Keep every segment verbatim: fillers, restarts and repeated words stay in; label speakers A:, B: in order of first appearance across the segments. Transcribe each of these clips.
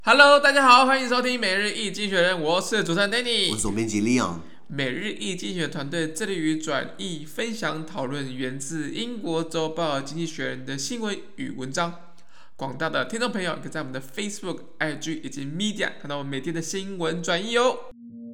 A: Hello， 大家好，歡迎收聽每日一經濟學人，我是主持人 Danny，
B: 我是總編輯 Leon。
A: 每日一經濟學團隊致力於轉譯、分享、討論源自英國週報《經濟學人》的新聞與文章。廣大的聽眾朋友可以在我們的 Facebook、I G 以及 Media 看到我們每天的新聞轉譯哦。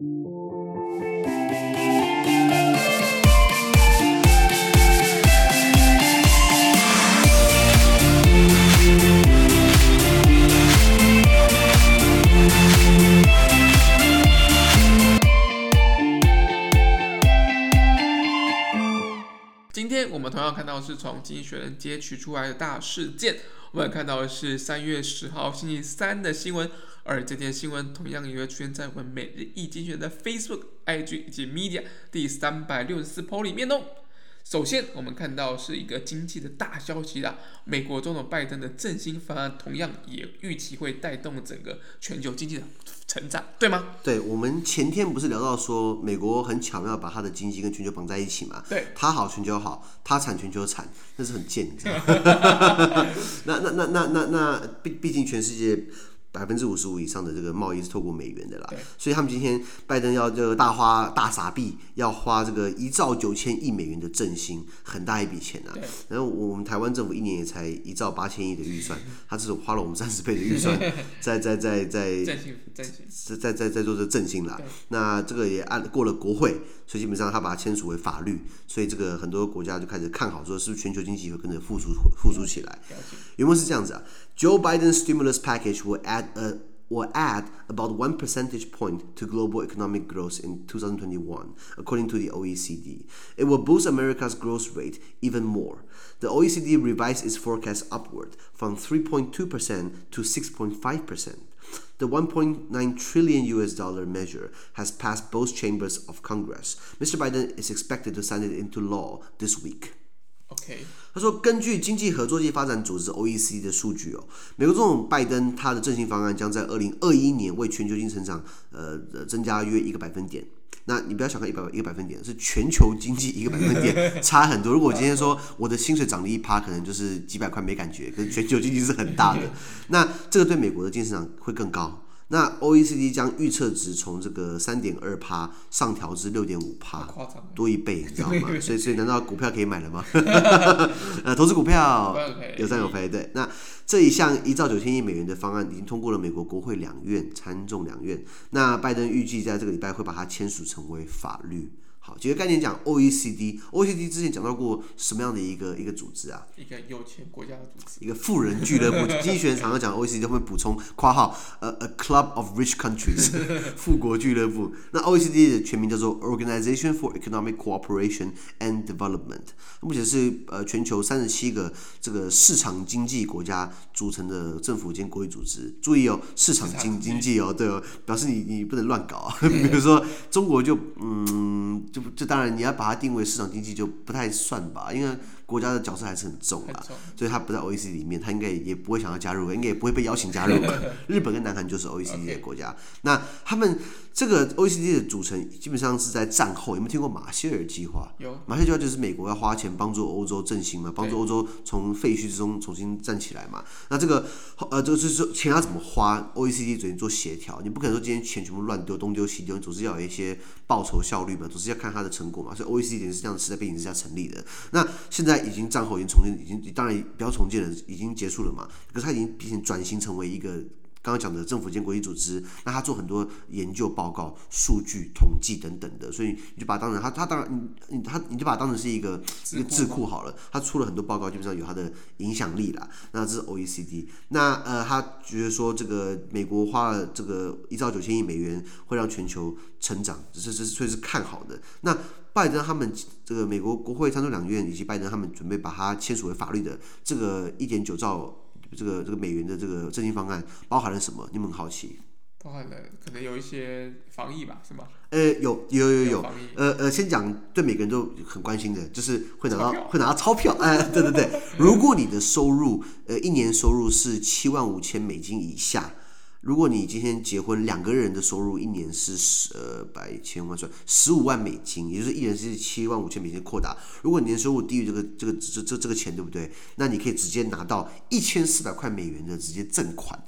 A: 今天我們同樣看到是從《經濟學人》截取出來的大事件，我們看到的是三月十號星期三的新聞，而這條新聞同樣也會出現在我們每日一經濟學人的 Facebook、I G 以及 Media 第三百六十四 po 裡面哦。首先，我們看到是一個經濟的大消息啦，美國總統拜登的振興方案同樣也預期會帶動整個全球經濟的成長，對嗎？
B: 對，我們前天不是聊到說，美國很巧妙把它的經濟跟全球綁在一起嘛？
A: 對，
B: 它好全球好，它產全球產，那是很賤，你知道嗎？那那那那那那，畢畢竟全世界百分之五十五以上的這個貿易是透過美元的啦，所以他們今天拜登要這個大花大撒幣，要花這個一兆九千億美元的振興，很大一筆錢啊。然後我們台灣政府一年也才一兆八千億的預算，他只是花了我們三十倍的預算，在在在在
A: 振興振興，
B: 在在在做這振興啦。那這個也按過了國會，所以基本上他把它簽署為法律，所以這個很多國家就開始看好，說是不是全球經濟會跟着復甦復甦起來。原文是這樣子啊 ，Joe Biden's stimulus package will add Uh, will add about one percentage point to global economic growth in twenty twenty-one, according to the O E C D. It will boost America's growth rate even more. The O E C D revised its forecast upward from three point two percent to six point five percent. The one point nine trillion U S dollar measure has passed both chambers of Congress. Mister Biden is expected to sign it into law this week.Okay. 他說，根據經濟合作暨發展組織 O E C D 的數據哦，美國總統拜登他的振興方案將在二零二一年為全球經濟成長呃增加約一個百分點。那你不要小看一百一個百分點，是全球經濟一個百分點，差很多。如果我今天說我的薪水漲了一趴，可能就是幾百塊沒感覺，可是全球經濟是很大的。那這個對美國的經濟成長會更高。那 O E C D 將預測值從這個 三點二趴 上調至 六點五趴， 多一倍，你知道嗎？所以，所以難道股票可以買了嗎？呃，投資股票有賺有賠，對。那這一項一兆九千億美元的方案已經通過了美國國會兩院、參眾兩院。那拜登預計在這個禮拜會把它簽署成為法律。好，幾個概念講 O E C D，O E C D 之前講到過什麼樣的一個一個組織啊？一個有錢國家的組織，一個富人俱樂部。經濟學人常常講 O E C D 會補充括號，呃 a club of rich countries， 富國俱樂部。那 O E C D 的全名叫做 Organization for Economic Cooperation and Development， 目前是呃全球三十七個這個市場經濟國家組成的政府兼國際組織。注意哦，市場經經濟哦，對哦，表示你你不能亂搞啊。比如說中國就嗯。就, 就當然你要把它定為市場經濟就不太算吧，因為國家的角色還是很重啦，所以它不在 O E C D 裡面，它應該也不會想要加入，應該也不會被邀請加入。日本跟南韓就是 O E C D 的國家， okay. 那他們這個 O E C D 的組成基本上是在戰後，有沒有聽過馬歇爾計劃？有，馬歇爾計劃就是美國要花錢幫助歐洲振興嘛，幫助歐洲從廢墟之中重新站起來嘛。那這個呃，這個就是說錢要怎麼花 ，O E C D 準備做協調，你不可能說今天錢全部亂丟，東丟西丟，總是要有一些報酬效率嘛，總是要看它的成果嘛。所以 O E C D 是這樣的時代背景之下成立的。那現在已經戰後已經重建，已經當然不要重建了，已經結束了嘛。可是它已經變成轉型成為一個剛剛講的政府間國際組織，那他做很多研究報告、數據統計等等的，所以你就把它當成他他當然你他你就把它當成是一個一個智庫好了。他出了很多報告，基本上有它的影響力啦。那這是 O E C D。那呃，他覺得說這個美國花了這個一兆九千億美元會讓全球成長，這是這是所以是看好的。那拜登他們這個美國國會參眾兩院以及拜登他們準備把它簽署為法律的這個一點九兆。這個這個美元的這個振興方案包含了什麼？你們很好奇。
A: 包含了可能有一些防疫吧，是嗎？
B: 呃，有有有有。呃呃，先講對每個人都很關心的，就是會拿到會拿到鈔票。哎、呃，對對對。如果你的收入呃一年收入是七萬五千美金以下。如果你今天結婚，兩個人的收入一年是十呃百千萬算十五萬美金，也就是一人是七萬五千美金擴大。如果你的收入低於這個這個這這這個錢，對不對？那你可以直接拿到一千四百塊美元的直接贈款。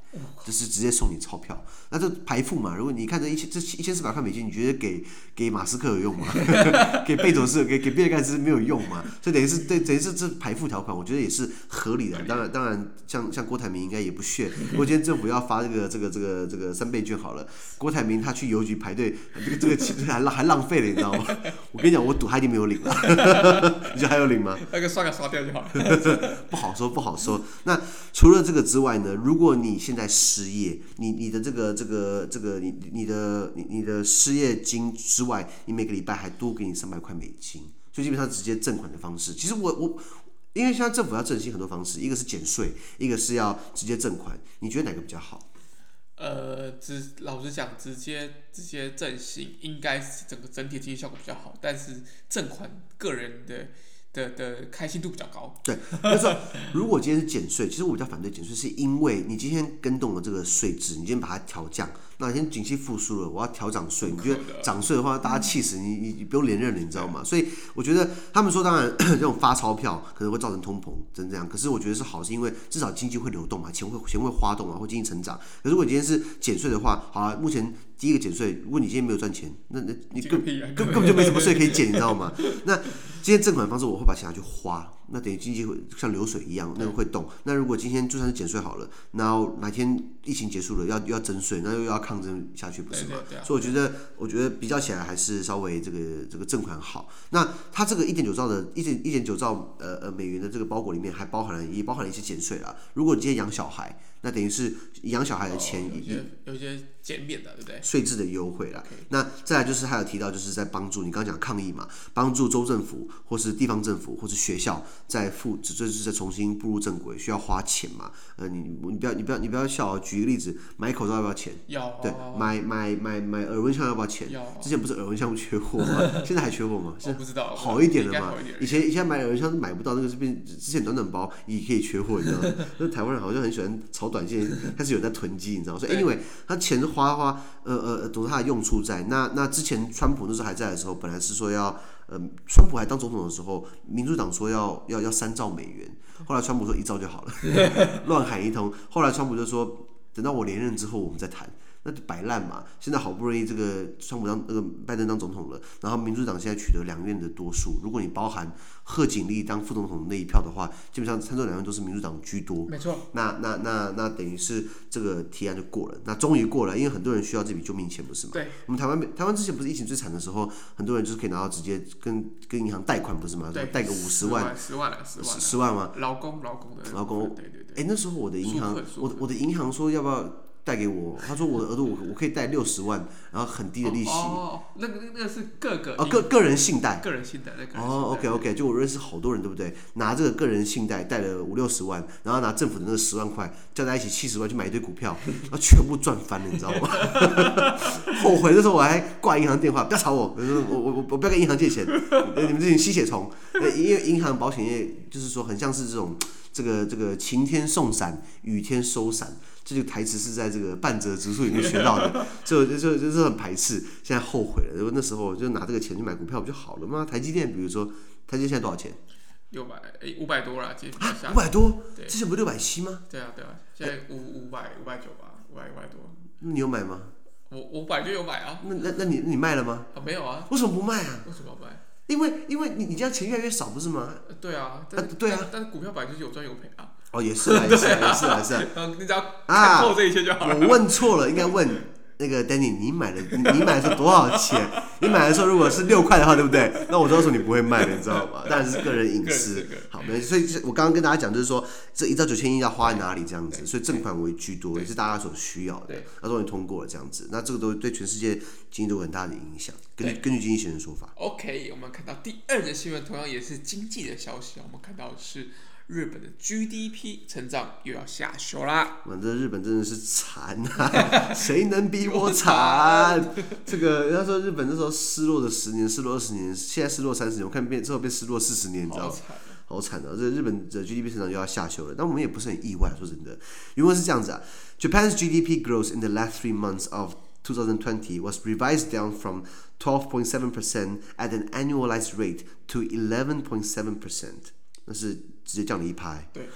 B: 就是直接送你鈔票。那這排富嘛，如果你看這一千這一千四百塊美金，你覺得給給馬斯克有用嗎？給貝佐斯、給給比爾蓋茨沒有用嘛？所以等於是對，等於是這排富條款，我覺得也是合理的。當然，當然像像郭台銘應該也不屑。如果今天政府要發這個這個這個這個三倍券好了，郭台銘他去郵局排隊，這個這個錢還浪還浪費了，你知道嗎？我跟你講，我賭他一定沒有領了。你覺得還有領嗎？
A: 那個刷卡刷掉就好了。
B: 不好說，不好說。那除了這個之外呢？如果你現在失業，你你的這個這個這個你你的你你的失業金之外，你每個禮拜還多給你三百塊美金，所以基本上直接贈款的方式。其實我我因為現在政府要振興很多方式，一個是減稅，一個是要直接贈款，你覺得哪個比較好？
A: 呃，直老實講，直接直接振興應該是整個整體經濟效果比較好，但是贈款個人的。的的開心度比較高。
B: 對，就是說，如果今天是減稅，其實我比較反對減稅，是因為你今天更動了這個稅制，你今天把它調降，那今天景氣復甦了，我要調漲稅，你覺得漲稅的話，大家氣死你，你你不用連任了，你知道嗎？所以我覺得他們說，當然這種發鈔票可能會造成通膨，真這樣。可是我覺得是好，是因為至少經濟會流動嘛，錢會錢會花動啊，會經濟成長。可是如果今天是減稅的話，好啊，目前第一個減稅，如果你今天沒有賺錢，那那你根根根本就沒什麼稅可以減，你知道嗎？那今天贈款的方式，我會把錢拿去花，那等於經濟會像流水一樣，那個會動。那如果今天就算是減稅好了，然後哪天疫情結束了，要又要徵稅，那又要抗爭下去，不是嗎？對對對啊、所以我覺得，我覺得比較起來還是稍微這個這個贈款好。那它這個一點九兆的一點一點九兆呃呃美元的這個包裹裡面，還包含了也包含了一些減稅啦。如果你今天養小孩，那等於是養小孩的錢、哦、有些
A: 有些減免的，對不對？
B: 稅制的優惠啦。Okay. 那再來就是還有提到，就是在幫助你剛剛講抗疫嘛，幫助州政府或是地方政府或是學校在復，這就是在重新步入正軌，需要花錢嘛。呃，你你不要你不要你不要笑啊！舉個例子，買口罩要不要錢？
A: 要。
B: 對，買買買買耳溫槍要不要錢？
A: 要。
B: 之前不是耳溫槍缺貨嗎？現在還缺貨嗎？
A: 我不知道。
B: 好一點了嘛？以前以前買耳溫槍買不到，那個是變之前短短包也可以缺貨，你知道嗎？那台灣人好像很喜歡炒短線，開始有在囤積，你知道嗎？所以 anyway， 他錢花花，呃呃，總之他的用處在。那那之前川普那時候還在的時候，本來是說要，呃，川普還當總統的時候，民主黨說要要要三兆美元，後來川普說一兆就好了，亂喊一通。後來川普就說，等到我連任之後我們再談。那就擺爛嘛！現在好不容易這個川普當那個拜登當總統了，然後民主黨現在取得兩院的多數。如果你包含賀錦麗當副總統的那一票的話，基本上參眾兩院都是民主黨居多。
A: 沒錯。那
B: 那那那等於是這個提案就過了，那終於過了，因為很多人需要這筆救命錢，不是嗎？對。我們台灣台灣之前不是疫情最慘的時候，很多人就是可以拿到直接跟跟銀行貸款，不是嗎？貸個五十萬。
A: 十萬了，十萬。
B: 十萬嗎？
A: 勞工勞工的。
B: 勞工。對對對。哎，那時候我的銀行，我我的銀行說要不要？貸給我，他說我的額度我我可以貸六十萬，然後很低的利息。
A: 哦，那個那個是個個
B: 哦個個人信貸。
A: 個人信貸那個。
B: 哦 ，OK OK，就我認識好多人，對不對？拿這個個人信貸貸了五六十萬，然後拿政府的那個十萬塊，加在一起七十萬去買一堆股票，然後全部賺翻了，你知道嗎？後悔的時候我還掛銀行電話，不要吵我，我我我我不要跟銀行借錢，你們這群吸血蟲。因為銀行保險業就是說很像是這種這個這個晴天送傘，雨天收傘。這個台詞是在這個半澤直樹裡面學到的，就就就就是很排斥，現在後悔了。如果那時候就拿這個錢去買股票不就好了嗎？台積電，比如說，台積電現在多少錢？
A: 六百，哎，五百多了，接近
B: 五百多？之前不是六百七嗎？
A: 對啊，對啊，現在五五百五百九吧，五百五百多。
B: 那你有買嗎？
A: 我我本來就有買啊。
B: 那那那你你賣了嗎？
A: 啊，沒有啊。
B: 為什麼不賣啊？
A: 為什麼不賣？因
B: 為因為你你這樣錢越來越少，不是嗎？
A: 對啊，
B: 啊對啊，
A: 但是股票本來就是有賺有賠啊。
B: 哦，也是啊，也是啊，也是啊，是啊。
A: 你只要看透這一切就好了。
B: 我問錯了，應該問那個 Danny， 你買的你買的是多少錢？你買的時候如果是六塊的話，對不對？那我知道說你不會賣的，你知道嗎？當然是個人隱私。好，沒，所以我剛剛跟大家講，就是說這一兆九千億要花在哪裡這樣子，所以贈款為居多，也是大家所需要的。那終於通過了這樣子，那這個都對全世界經濟都有很大的影響。根據根據經濟學人的說法。
A: OK， 我們看到第二則新聞，同樣也是經濟的消息，我們看到的是。日本的 G D P 成長又要下修啦！
B: 我這日本真的是慘啊！誰能比我慘？這個人家說日本那時候失落的十年，失落二十年，現在失落三十年，我看變之後變失落四十年，你知道嗎？好慘啊！這日本的 G D P 成長又要下修了，但我們也不是很意外，說真的。原文是這樣子啊 ：Japan's G D P growth in the last three months of twenty twenty was revised down from twelve point seven percent at an annualized rate to eleven point seven percent。那是直接降了一拍。
A: 对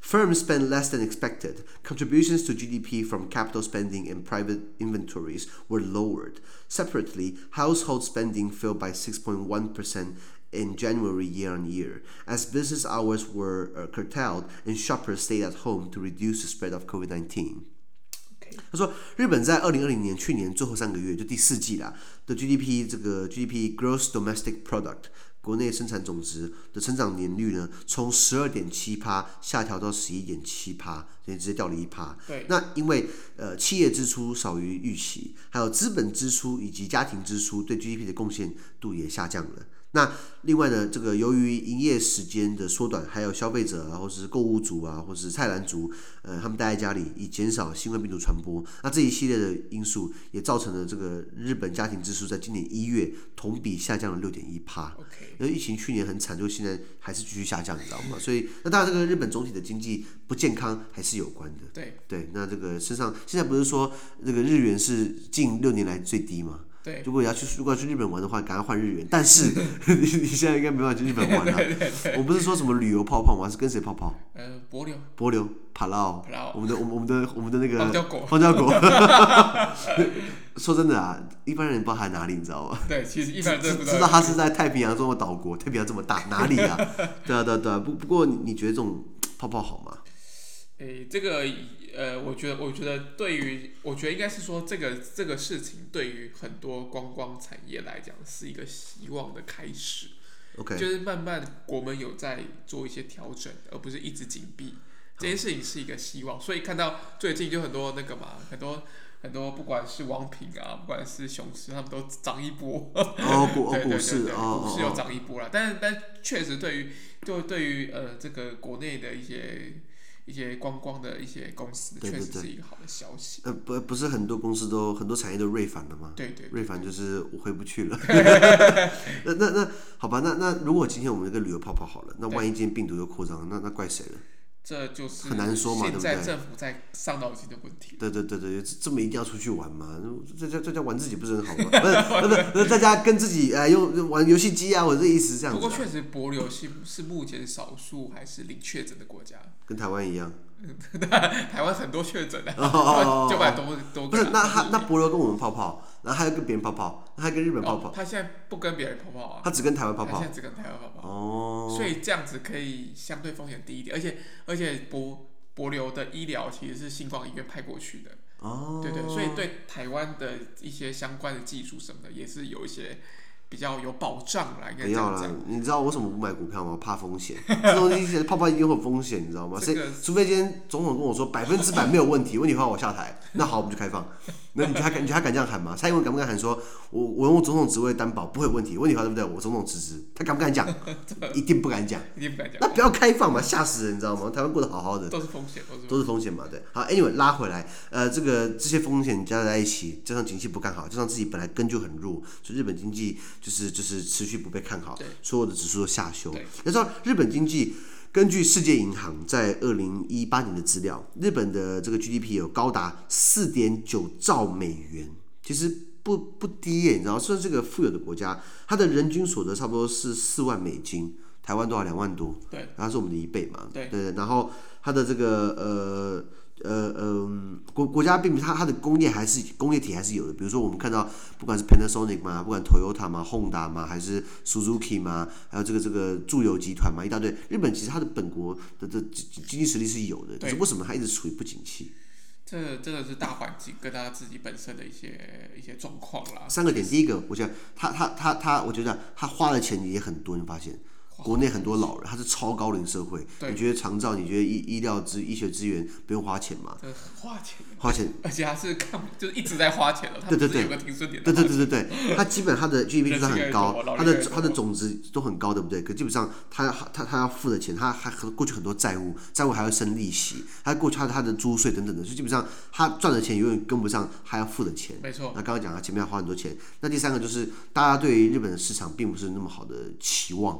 B: Firms spent less than expected. Contributions to G D P from capital spending and private inventories were lowered. Separately, household spending fell by six point one percent in January year on year, as business hours were uh, curtailed and shoppers stayed at home to reduce the spread of COVID nineteen.Okay. 他說，日本在二零二零年去年最後三個月，就第四季啦的 G D P 这個 G D P Gross Domestic Product 國內生產總值的成長年率呢，從十二點七趴下調到十一點七趴，所以直接掉了一趴。那因為呃企業支出少於預期，還有資本支出以及家庭支出對 G D P 的貢獻度也下降了。那另外呢，這個由於營業時間的縮短，還有消費者啊，或是購物族啊，或是菜籃族，呃，他們待在家裡，以減少新冠病毒傳播。那這一系列的因素也造成了這個日本家庭支出在今年一月同比下降了六點一趴。因為疫情去年很慘，就現在還是繼續下降，你知道嗎？所以那當然，這個日本總體的經濟不健康還是有關的。
A: 對
B: 對，那這個身上現在不是說這個日元是近六年來最低嗎？
A: 對，
B: 如果要去如果要去日本玩的話，趕快換日元。但是你你現在應該沒辦法去日本玩了、啊。我不是說什麼旅遊泡泡嗎？是跟誰泡泡？
A: 呃，帛琉。
B: 帛琉，帕勞。我們的我們我們的我們的那個。
A: 荒郊國。
B: 荒郊國。說真的啊，一般人不知道它在哪裡，你知道嗎？
A: 對，其實一般人真的不知道。
B: 知道它是在太平洋中的島國，太平洋這麼大，哪裡啊？對啊對啊對啊。不不過你覺得這種泡泡好嗎？
A: 誒，這個呃，我覺得，我覺得對於，我覺得應該是說，這個這個事情對於很多觀光產業來講是一個希望的開始。
B: OK，
A: 就是慢慢國門有在做一些調整，而不是一直緊閉。這件事情是一個希望，所以看到最近就很多那個嘛，很多很多不管是王品啊，不管是雄獅，他們都漲一波。
B: 哦，股
A: 對
B: 股市哦，
A: 股市有漲一波啦。但是但確實對於就對於呃這個國內的一些。一些觀光的一些公司，確實是一個好的消息。
B: 呃，不，不是很多公司都很多產業都銳返了嗎？
A: 對對，
B: 銳返就是我回不去了。那那那好吧，那那如果今天我們這個旅遊泡泡好了，那萬一今天病毒又擴張，那那怪誰了？
A: 這就是
B: 很難說嘛，對不對？
A: 現在政府在傷腦筋的問題。
B: 對對對對，這麼一定要出去玩嘛？在家在家玩自己不是很好嗎？不是不是不是，在家跟自己哎用玩遊戲機啊，我這意思這樣子、啊。
A: 不過確實，帛琉是是目前少數還是零確診的國家。
B: 跟台灣一樣。
A: 台灣很多確診的，九百多多。
B: 不是，那他那帛琉跟我們泡泡，然後還要跟別人泡泡，那還跟日本泡泡、哦。
A: 他現在不跟別人泡泡啊。
B: 他只跟台灣泡泡。
A: 他現在只跟台灣泡泡。
B: 哦。
A: 所以這樣子可以相對風險低一點，而且而且帛帛琉的醫療其實是新光醫院派過去的。哦。對對，所以對台灣的一些相關的技術什麼的，也是有一些。比較有保障啦，應該這樣講。不要啦，
B: 你知道我為什麼不買股票嗎？怕風險。這東西泡泡一定會有風險，你知道嗎？所以除非今天總統跟我說百分之百沒有問題，問題的話我下台，那好，我們就開放。那你覺得他敢？你覺得他敢這樣喊嗎？蔡英文敢不敢喊說，我我用總統職位擔保不會有問題？問題的話對不對？我總統辭職，他敢不敢講？一定不敢講。
A: 一定不敢講。
B: 那不要開放嘛，嚇死人，你知道嗎？台灣過得好好的。
A: 都是風險，
B: 都是風險嘛，對。好 ，anyway 拉回來，呃，這個這些風險加在一起，加上景氣不看好，加上自己本來根就很弱，所以日本經濟就是就是持續不被看好，所有的指數都下修。要知道日本經濟。根據世界銀行在二零一八年的資料，日本的這個 G D P 有高達四點九兆美元，其實不不低耶，你知道，算是這個富有的國家，它的人均所得差不多是四萬美金，台灣多少兩萬多，對，它是我們的一倍嘛，對對，然後它的這個呃。呃嗯，國國家並不，它它的工業還是工業體還是有的，比如說我們看到不管是 Panasonic 嘛，不管 Toyota 嘛 ，Honda 嘛，還是 Suzuki 嘛，還有這個這個住友集團嘛，一大堆。日本其實它的本國的的經濟實力是有的，可是為什麼它一直處於不景氣？這
A: 真的是大環境跟他自己本身的一些一些狀況啦。
B: 三個點，第一個，我覺得他他他他，我覺得他花的錢也很多，你發現。國內很多老人，他是超高齡社會。你覺得長照，你覺得醫醫療資醫學資源不用花錢嗎？
A: 花錢，
B: 花錢，
A: 而且他是看，就是一直在花錢了。
B: 對對對，
A: 有個停損點。
B: 對對對對對，他基本他的 G D P 就算很高，他的他的總值都很高，對不對？可基本上他他他要付的錢，他還過去很多債務，債務還要生利息，他過去他的他的租稅等等的，所以基本上他賺的錢永遠跟不上他要付的錢。
A: 沒錯。
B: 那剛剛講他前面要花很多錢，那第三個就是大家對於日本的市場並不是那麼好的期望。那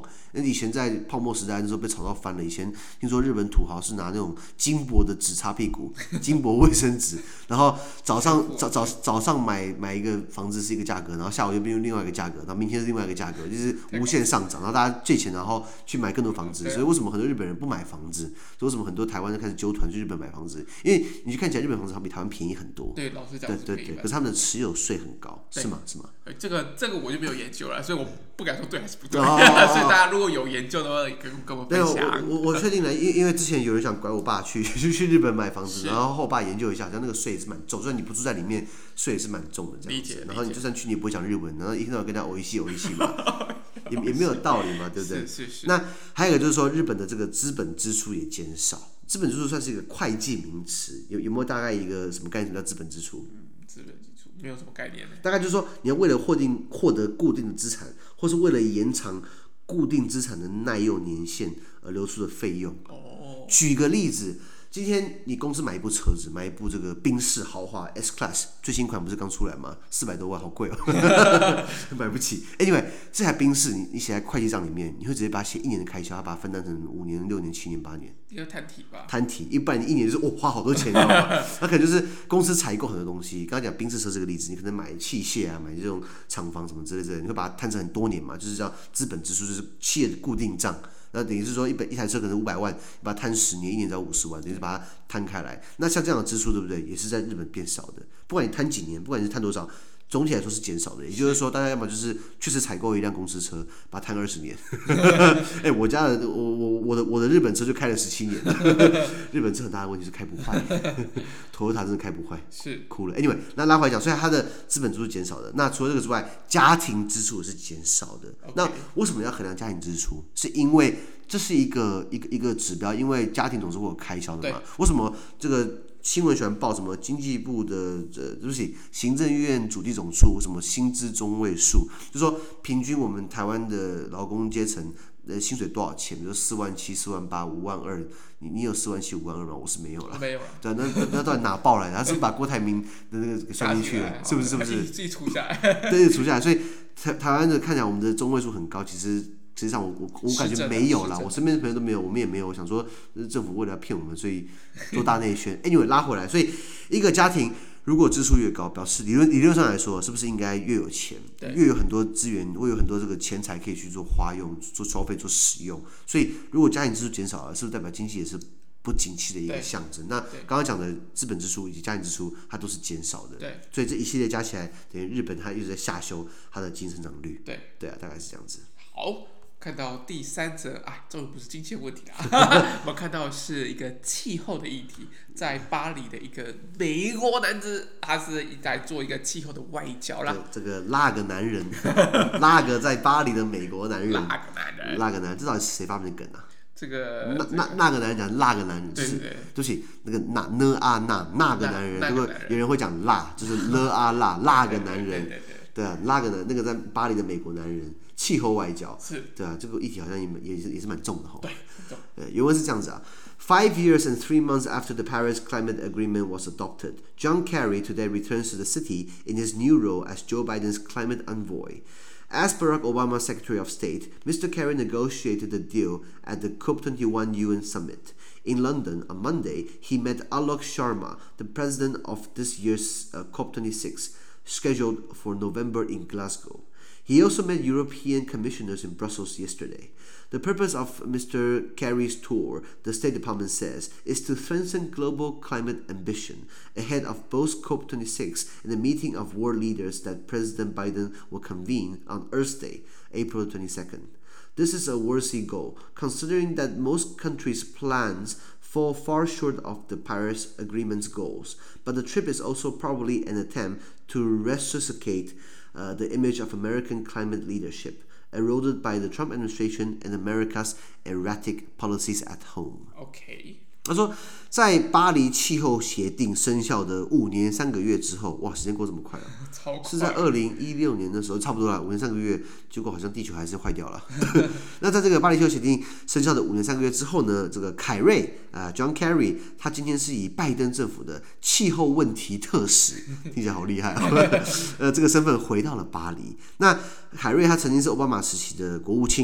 B: 以前在泡沫時代的時候被炒到翻了。以前聽說日本土豪是拿那種金箔的紙擦屁股，金箔衛生紙，然後早上早早早上買買一個房子是一個價格，然後下午又變另外一個價格，然後明天是另外一個價格，就是無限上漲，然後大家借錢然後去買更多房子。所以為什麼很多日本人不買房子？所以為什麼很多台灣人開始揪團去日本買房子？因為你去看起來日本房子好比台灣便宜很多。
A: 對，老實講，
B: 對對對，可是他們的持有稅很高，是嗎？是嗎？
A: 這個這個我就沒有研究了，所以我不敢說對還是不對。哦、所以大家如果有研究的話，跟跟我分享。
B: 我我確定了，因因為之前有人想拐我爸去去去日本買房子，然後後我爸研究一下，好像那個稅也是蠻重，雖然你不住在裡面，稅也是蠻重的這樣子。然後你就算去，你也不會講日文，然後一天到晚跟他歐一西歐一西嘛，也也沒有道理嘛，對不對？
A: 是是是。
B: 那還有一個就是說，日本的這個資本支出也減少。資本支出算是一個會計名詞，有有沒有大概一個什麼概念叫資本支出？
A: 嗯，資本支出沒有什麼概念。
B: 大概就是說，你要為了獲定獲得固定的資產，或是為了延長固定資產的耐用年限而流出的費用。哦。舉個例子。今天你公司買一部車子，買一部這個賓士豪華 S Class 最新款不是剛出來嗎？四百多萬，好貴哦，買不起。Anyway， 這台賓士你你寫在會計賬裡面，你會直接把它寫一年的開銷，它把它分擔成五年、六年、七年、八年。
A: 你要攤提吧？
B: 攤提，一般你一年就是哦花好多錢，你知道嗎？那可能就是公司採購很多東西。剛剛講賓士車這個例子，你可能買器械啊，買這種廠房什麼之類之類，你會把它攤成很多年嘛，就是叫資本支出，就是企業的固定賬。那等於是說一本一台車可能五百萬，你把它攤十年，一年只要五十萬，等於是把它攤開來。那像這樣的支出，對不对？也是在日本變少的。不管你攤幾年，不管你是攤多少，總體來說是減少的。也就是說，大家要麼就是確實採購一輛公司車，把它攤二十年。哎、欸，我家的我我我的我的日本車就開了十七年。日本車很大的問題是開不壞，Toyota 真的開不壞，是哭了。Anyway， 那拉回來講，所以它的資本支出減少的。那除了這個之外，家庭支出也是減少的。Okay. 那為什麼要衡量家庭支出？是因為這是一個一個一個指標，因為家庭總是會有開銷的嘛。為什麼這個新聞喜歡報什麼經濟部的呃，對不起，行政院主計總處什麼薪資中位數，就是說平均我們台灣的勞工階層呃薪水多少錢？比如說四萬七、四萬八、五萬二，你你有四萬七、五萬二嗎？我是沒有了，
A: 沒有了。對，
B: 那那到底哪報來的？他是不是把郭台銘的那個給算進去了？是不是？是不是？
A: 自己除下來。
B: 對，除下來。所以台台灣的看起來我們的中位數很高，其實。實際上我，我我感覺沒有啦，我身邊的朋友都沒有，我們也沒有。我想說，政府為了要騙我們，所以做大內宣。Anyway， 拉回來，所以一個家庭如果支出越高，表示理論理論上來說，是不是應該越有錢，越有很多資源，會有很多這個錢財可以去做花用、做消費、做使用？所以，如果家庭支出減少了，是不是代表經濟也是不景氣的一個象徵？那剛剛講的資本支出以及家庭支出，它都是減少的。對，所以這一系列加起來，等於日本它一直在下修它的經濟增長率。對，對啊，大概是這樣子。
A: 好。看到第三則啊，這不是經濟問題啦，我們看到是一個氣候的議題，在巴黎的一個美國男子，他是在做一個氣候的外交啦。
B: 這個那個男人，那個在巴黎的美國男人，
A: 那個男人，
B: 那個男人，這到底是誰發明的梗啊？
A: 這個
B: 那那那個男人講那個男人，就是對不起，那個那呢啊那那個男人，如果有人會講辣，就是了啊辣那個男人，對啊，那個男那個在巴黎的美國男人。氣候外交是，對啊，這個議題好像也也是也是蠻重的哈。對，對，原文是這樣子啊。Five years and three months after the Paris Climate Agreement was adopted, John Kerry today returns to the city in his new role as Joe Biden's climate envoy. As Barack Obama's Secretary of State, Mister Kerry negotiated the deal at the COP twenty-one U N summit. In London on Monday, he met Alok Sharma, the president of this year's uh, COP twenty-six, scheduled for November in Glasgow.He also met European commissioners in Brussels yesterday. The purpose of Mister Kerry's tour, the State Department says, is to strengthen global climate ambition ahead of both COP twenty-six and the meeting of world leaders that President Biden will convene on Earth Day, April twenty-second. This is a worthy goal, considering that most countries' plans fall far short of the Paris Agreement's goals, but the trip is also probably an attempt to resuscitate,Uh, the image of American climate leadership, eroded by the Trump administration and America's erratic policies at home.
A: Okay.
B: 他說，在巴黎氣候協定生效的五年三個月之後，哇，時間過這麼快啊！
A: 超快。
B: 是在二零一六年的時候，差不多啦，五年三個月，結果好像地球還是壞掉了。那在這個巴黎氣候協定生效的五年三個月之後呢，這個凱瑞啊、呃、，John Kerry， 他今天是以拜登政府的氣候問題特使，聽起來好厲害哦。呃，這個身份回到了巴黎。那凱瑞他曾經是奧巴馬時期的國務卿。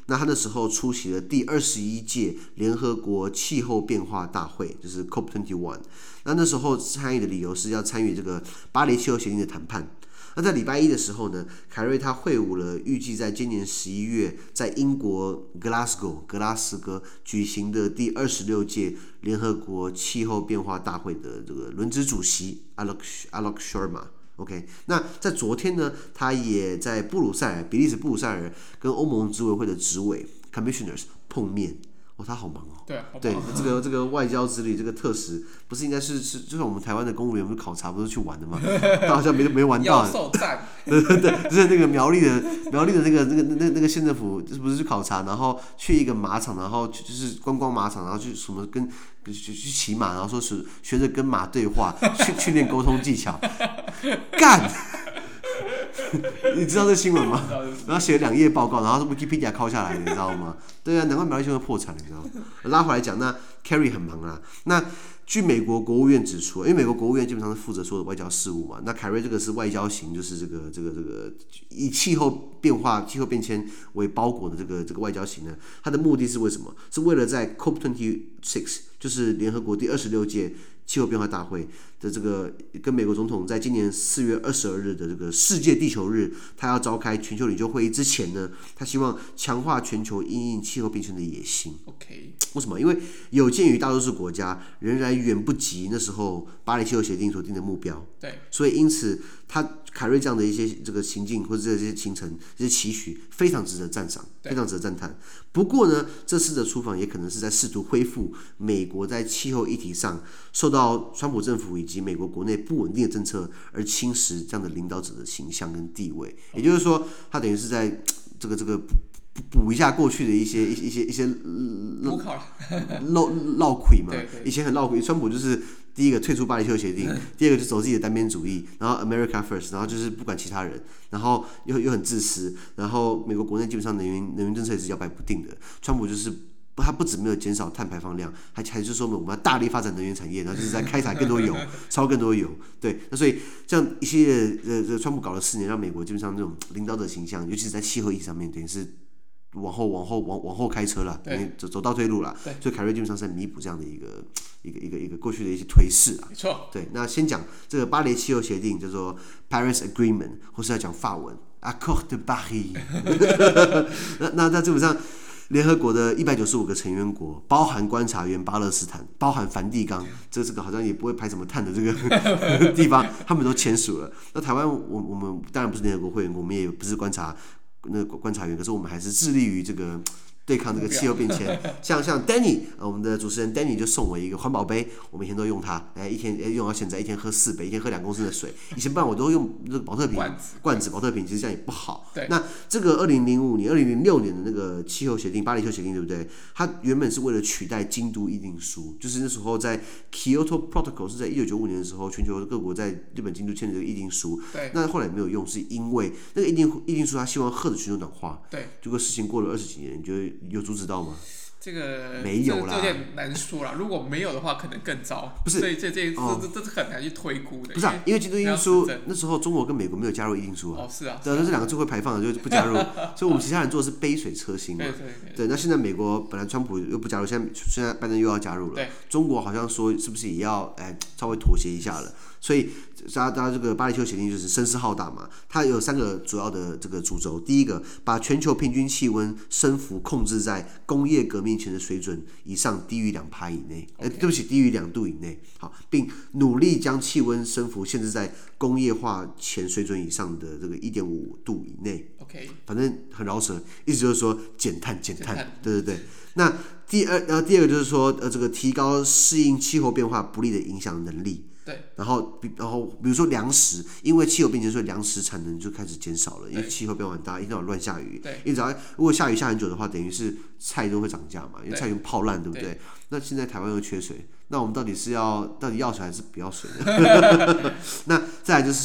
B: 那他那時候出席了第二十一屆聯合國氣候變化大會，就是 C O P 二十一。那那時候參與的理由是要參與這個巴黎氣候協定的談判。那在禮拜一的時候呢，凱瑞他會晤了預計在今年十一月在英國 Glasgow 格拉斯哥舉行的第二十六屆聯合國氣候變化大會的這個輪值主席 Alok Alok Sharma。OK， 那在昨天呢，他也在布魯塞爾，比利時布魯塞爾跟歐盟執委會的執委 Commissioners 碰面。哦，他好忙哦。
A: 對，好
B: 對，這個這個外交之旅，這個特使不是應該是是，就像我們台灣的公務員不是考察不是去玩的嗎？他好像沒沒玩到。
A: 妖獸讚。
B: 對對對，就是那個苗栗的苗栗的那個那個那個那個縣政府，就是不是去考察，然後去一個馬場，然後就是觀光馬場，然後去什麼跟去去騎馬，然後說是學着跟馬對話，去訓練溝通技巧，幹。你知道這新聞嗎？然後寫了兩頁報告，然後是 Wikipedia 拷下來的，你知道嗎？對啊，難怪苗栗縣會破產，你知道嗎？拉回來講，那 Kerry 很忙啊。那據美國國務院指出，因為美國國務院基本上是負責所有的外交事務嘛，那凱瑞這個是外交型，就是這個這個這個以氣候變化、氣候變遷為包裹的這個這個外交型呢，它的目的是為什麼？是為了在 C O P 二十六，就是聯合國第二十六屆氣候變化大會的這個跟美國總統在今年四月二十二日的這個世界地球日，他要召開全球領袖會議之前呢，他希望強化全球因應氣候變遷的野心。
A: OK，
B: 為什麼？因為有鑑於大多數國家仍然遠不及那時候巴黎氣候協定所定的目標，
A: 對，
B: 所以因此他凱瑞這樣的一些這個行徑或者這些行程、這些期許，非常值得讚賞，非常值得讚嘆。不過呢，這次的出訪也可能是在試圖恢復美國在氣候議題上受到川普政府以及美國國內不穩定的政策而侵蝕這樣的領導者的形象跟地位。也就是說，他等於是在這個這個補一下過去的一些一些一些
A: 補考
B: 漏漏虧嘛。
A: 對對，
B: 以前很漏虧，川普就是第一個退出巴黎氣候協定，第二個就走自己的單邊主義，然後 America First， 然後就是不管其他人，然後又又很自私，然後美國國內基本上能源能源政策也是搖擺不定的。川普就是他不止沒有減少碳排放量，還還是說我們要大力發展能源產業，然後就是在開採更多油，燒更多油。對，那所以這樣一系列呃呃，川普搞了四年，讓美國基本上這種領導者形象，尤其是在氣候議題上面，等於是往後往後往往後開車了，走走倒退路了。所以凱瑞基本上是在彌補這樣的一個一個一個一個過去的一些頹勢啊。
A: 沒錯。對，
B: 那先講這個巴黎氣候協定，叫做 Paris Agreement， 或是要講法文 Accord de Paris 那。那那基本上，聯合國的一百九十五個成員國，包含觀察員巴勒斯坦，包含梵蒂岡，這這個好像也不會排什麼碳的這個地方，他們都簽署了。那台灣，我我們當然不是聯合國會員國，我們也不是觀察那個觀察員，可是我們還是致力於這個對抗這個氣候變遷。像像 Danny， 我們的主持人 Danny 就送我一個環保杯，我每天都用它，哎，一天用到現在，一天喝四杯，一天喝兩公升的水。以前不然我都用這個保特瓶罐子，保特瓶其實這樣也不好。那這個二零零五年、二零零六年的那個氣候協定，巴黎氣候協定，對不對？它原本是為了取代京都議定書，就是那時候在 Kyoto Protocol 是在一九九五年的時候，全球各國在日本京都簽的這個議定書。那後來沒有用，是因為那個議定議定書它希望遏制全球暖化。對，結果事情過了二十幾年，你覺得有阻止到嗎？
A: 這個
B: 沒有啦，
A: 這有點難說啦。如果沒有的話，可能更糟。不是，所以這這這、哦、這這是很難去推估的。
B: 不是啊，因為京都議定書那時候中國跟美國沒有加入議定書啊。哦，是啊。對，那這兩個最會排放的就不加入，所以我們其他人做的是杯水車薪嘛。對對對。對，那現在美國本來川普又不加入，現在現在拜登又要加入了。對。中國好像說是不是也要哎稍微妥協一下了？所以，大家這個巴黎氣候協定就是聲勢浩大嘛。它有三個主要的這個主軸。第一個，把全球平均氣溫升幅控制在工業革命前的水準以上，低於兩趴以內。Okay. 對不起，低於兩度以內。好，並努力將氣溫升幅限制在工業化前水準以上的這個一點五度以內。OK， 反正很饒舌，意思就是說減碳減碳。對對對。那第二，呃，第二個就是說，呃，這個提高適應氣候變化不利的影響能力。對，然後，然後，比如說糧食，因為氣候變遷，所以糧食產能就開始減少了，因為氣候變化很大，一定要亂下雨。對，因為只要如果下雨下很久的話，等於是菜都會漲價嘛，因為菜用泡爛，對不對？對，那現在台灣又缺水，那我們到底是要到底要水還是不要水呢？那再來就是說，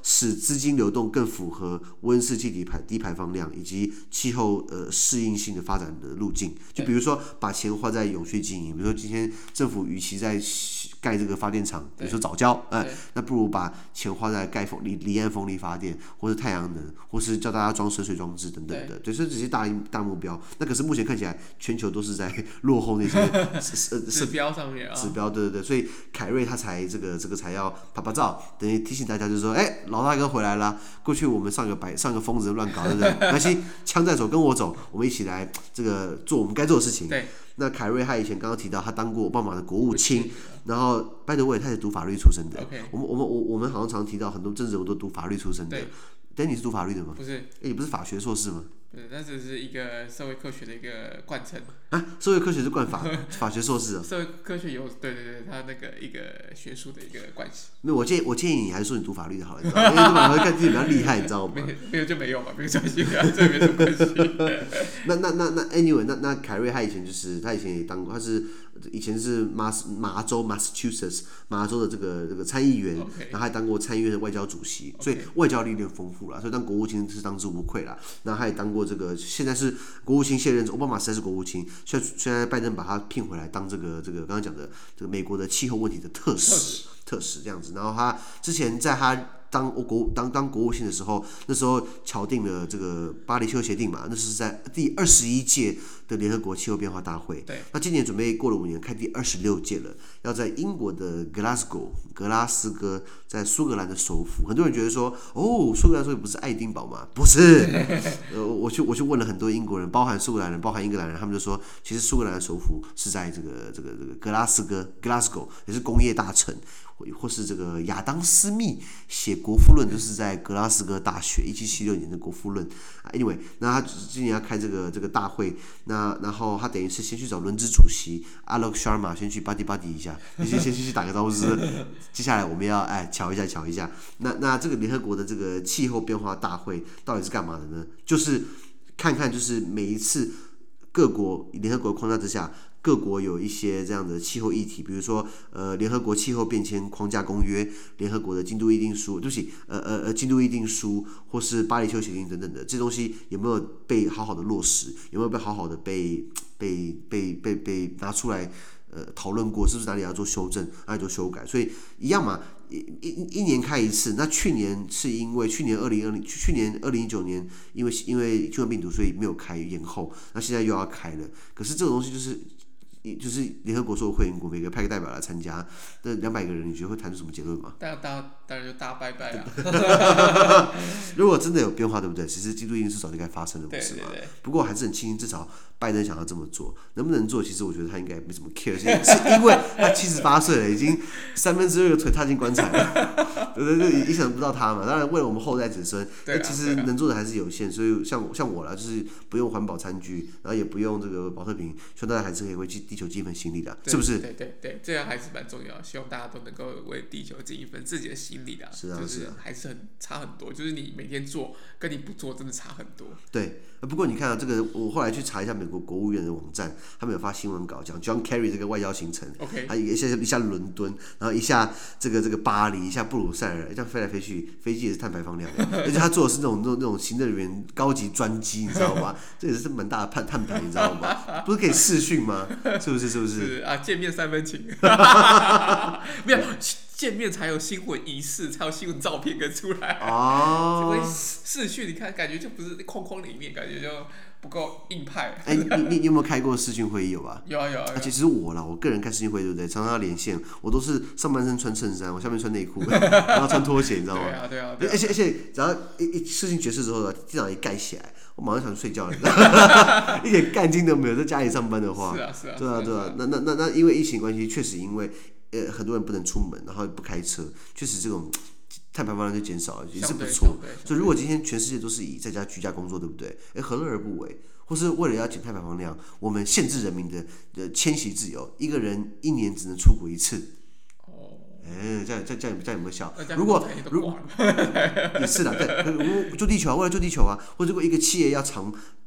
B: 使資金流動更符合溫室氣體排低排放量以及氣候呃適應性的發展的路徑。就比如說把錢花在永續經營，比如說今天政府與其在蓋這個發電廠，比如說藻礁，哎、呃，那不如把錢花在蓋風離離岸風力發電，或是太陽能，或是叫大家裝水水裝置等等的，對，所以這些大大目標。那可是目前看起來，全球都是在落後那些
A: 指標上面啊。
B: 指標，對對對，所以凱瑞他才這個這個才要拍拍照，等於提醒大家就是說，哎、欸，老大哥回來了。過去我們上個白上個瘋子亂搞，對不對？沒關係，槍在手，跟我走，我們一起來這個做我們該做的事情。
A: 對。
B: 那凱瑞他以前剛剛提到，他當過奧巴馬的國務卿，然後拜登我他是讀法律出身的。Okay. 我們我們我我們好像常提到很多政治人物都讀法律出身的。但你是讀法律的嗎？
A: 不是。哎，
B: 你不是法學碩士嗎？
A: 對，那只是一個社會科學的一個貫徹
B: 啊，社會科學是貫法法學碩士啊。
A: 社會科學有對對對，它那個一個學術的一個關係。
B: 沒有，我建議我建議你還是說你讀法律的好了，你知道嗎？因為讀法律看自己比較厲害，你知道嗎？
A: 沒沒有就沒有嘛，沒關係啊，這沒什麼關係。
B: 那那那那 anyway， 那那凱瑞他以前就是他以前也當過，他是以前是麻麻州 Massachusetts 麻州的這個這個參議員，
A: okay.
B: 然後還當過參議院的外交主席，
A: okay.
B: 所以外交歷練豐富了，所以當國務卿是當之無愧啦。那他也當過這個，現在是國務卿卸任，奧巴馬時代是國務卿，現在現在拜登把他聘回來當這個這個剛剛講的這個美國的氣候問題的特使特使這樣子。然後他之前在他當國當當國務卿的時候，那時候敲定了這個巴黎氣候協定嘛，那是在第二十一屆的聯合國氣候變化大會。
A: 對。
B: 那今年準備過了五年，開第二十六屆了，要在英國的 Glasgow 格拉斯哥，在蘇格蘭的首府。很多人覺得說，哦，蘇格蘭首府不是愛丁堡嗎？不是。呃，我去我去問了很多英國人，包含蘇格蘭人，包含英格蘭人，他們就說，其實蘇格蘭的首府是在這個這個這個格拉斯哥 Glasgow， 也是工業大城。或是這個亞當斯密寫《國富論》就是在格拉斯哥大學一七七六年的《國富論》。Anyway， 那他今年要開這個這個大會，那然後他等於是先去找輪值主席 Alok Sharma 先去 buddy buddy 一下，先先去打個招呼，是接下來我們要哎瞧一下瞧一下。那那這個聯合國的這個氣候變化大會到底是幹嘛的呢？就是看看就是每一次各國聯合國框架之下。各國有一些這樣的氣候議題，比如說呃聯合國氣候變遷框架公約、聯合國的京都議定書，對不起，呃呃呃京都議定書或是巴黎氣候協定等等的，這東西有沒有被好好的落實？有沒有被好好的被被被被被拿出來呃討論過？是不是哪裡要做修正，哪裡做修改？所以一樣嘛，一一一年開一次。那去年是因為去年二零二零去年二零一九年因為因為新冠病毒所以沒有開延後，那現在又要開了。可是這種東西就是。就是聯合國所有會員國每個派個代表來參加，那兩百個人，你覺得會談出什麼結論嗎？
A: 當然，當當然就大拜拜啊！
B: 如果真的有變化，對不對？其實京都議定書早就該發生了，不是嗎？
A: 對對對。
B: 不過還是很慶幸，至少拜登想要這麼做，能不能做？其實我覺得他應該沒什麼 care， 是因為他七十八歲了，已經三分之二的腿踏進棺材了，對對對，影響不到他嘛。當然，為了我們後代子孫，那、啊、其實能做的還是有限。所以像像我啦，就是不用環保餐具，然後也不用這個保特瓶，希望大家還是可以為地球盡一份心力的，是不是？
A: 對對對，這樣還是蠻重要。希望大家都能夠為地球盡一份自己的心力的。
B: 是啊，
A: 就是還是很差很多，就是你每天做跟你不做真的差很多。
B: 對，不過你看啊，這個我後來去查一下美國國務院的網站，他們有發新聞稿講 John Kerry 這個外交行程。OK， 他一下一下倫敦，然後一下這個這個巴黎，一下布魯塞爾，這樣飛來飛去，飛機也是碳排放量的，而且他坐的是那種那種那種行政人員高級專機，你知道嗎？這也是蠻大的碳碳排，你知道嗎？不是可以視訊嗎？是不是？是不是？
A: 是啊，見面三分情。沒有。見面才有新聞儀式，才有新聞照片跟出來。哦，因為視訊你看，感覺就不是框框裡面，感覺就不夠硬派。
B: 哎、欸，你你你有沒有開過視訊會議？有吧？
A: 有啊有啊。而且
B: 其實我啦，我個人開視訊會議，對不對？常常要連線，我都是上半身穿襯衫，我下面穿內褲，然後穿拖鞋，你知道嗎？對啊對啊。對啊而且而且，只要一一視訊結束之後，電腦一蓋起來，我馬上想去睡覺了，一點幹勁都沒有。在家裡上班的話，是啊是啊。對啊對啊，那那那那因為疫情關係，確實因為。呃，很多人不能出門，然後不開車，確實這種碳排放量就減少了，也是不錯。所以如果今天全世界都是以在家居家工作，對不對？哎，何樂而不為？或是為了要減碳排放量，我們限制人民的的遷徙自由，一個人一年只能出國一次。哦。哎，這樣這樣這樣這樣有沒有效？如果如果也是的，對，救地球啊，為了救地球啊，或者如果一個企業要長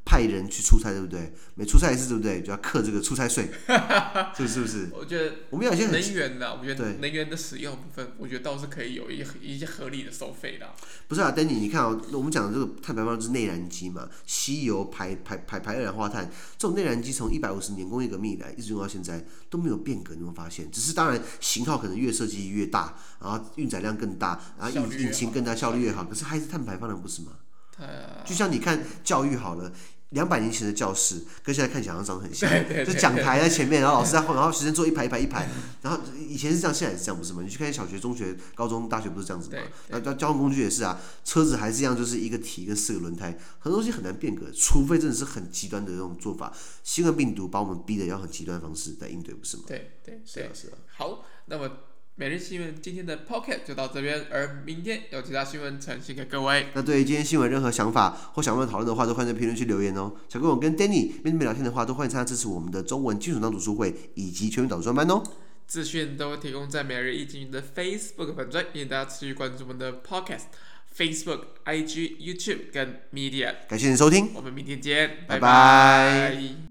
B: 派人去出差，對不對？每出差一次，對不對？就要課這個出差稅，是不是？是不是？
A: 我覺得
B: 我們有些
A: 能源的，我覺得能源的使用部分，我覺得倒是可以有一一些合理的收費的。
B: 不是啊 ，Danny， 你看哦，我們講的這個碳排放就是內燃機嘛，吸油排排排排二氧化碳，這種內燃機從一百五十年工業革命以來一直用到現在都沒有變革，你有沒有發現？只是當然型號可能越設計越大，然後運載量更大，然後引引擎更大，效率越好，可是還是碳排放量不是嗎？就像你看教育好了。两百年前的教室跟現在看起来好像長得很像，就講台在前面，然後老師在後，然後學生坐一排一排一排，然後以前是這樣，現在也是這樣，不是嗎？你去看小學、中學、高中、大學不是這樣子嗎？那交通工具也是啊，車子還是一樣，就是一個體跟四個輪胎，很多東西很難變革，除非真的是很極端的這種做法。新冠病毒把我們逼得要很極端的方式來應對，不是嗎？
A: 對對，
B: 是啊是啊。
A: 好，那麼。每日新聞今天的 Podcast 就到這邊，而明天有其他新聞呈現給各位。
B: 那對於今天新聞任何想法或想問討論的話，都歡迎在評論區留言哦。想跟我跟 Danny 面對面聊天的話，都歡迎參加支持我們的中文基礎檔讀書會以及全民導讀專班哦。
A: 資訊都會提供在每日一經的 Facebook 粉專，歡迎大家持續關注我們的 Podcast、Facebook、I G、YouTube 跟 Media。
B: 感謝您收聽，
A: 我們明天見，拜
B: 拜拜。